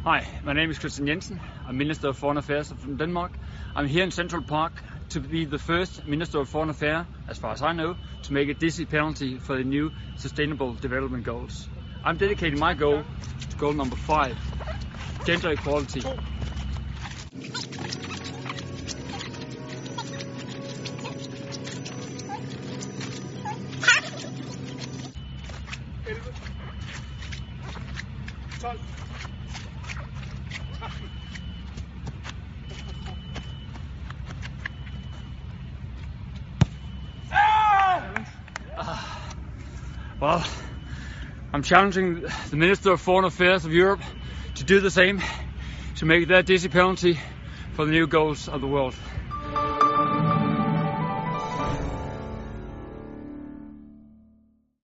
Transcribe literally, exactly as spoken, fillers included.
Hi, my name is Kristian Jensen. I'm Minister of Foreign Affairs from Denmark. I'm here in Central Park to be the first Minister of Foreign Affairs, as far as I know, to make a dizzy penalty for the new Sustainable Development Goals. I'm dedicating my goal to goal number five, gender equality. Well, I'm challenging the Minister of Foreign Affairs of Europe to do the same, to make their dizzy penalty for the new goals of the world.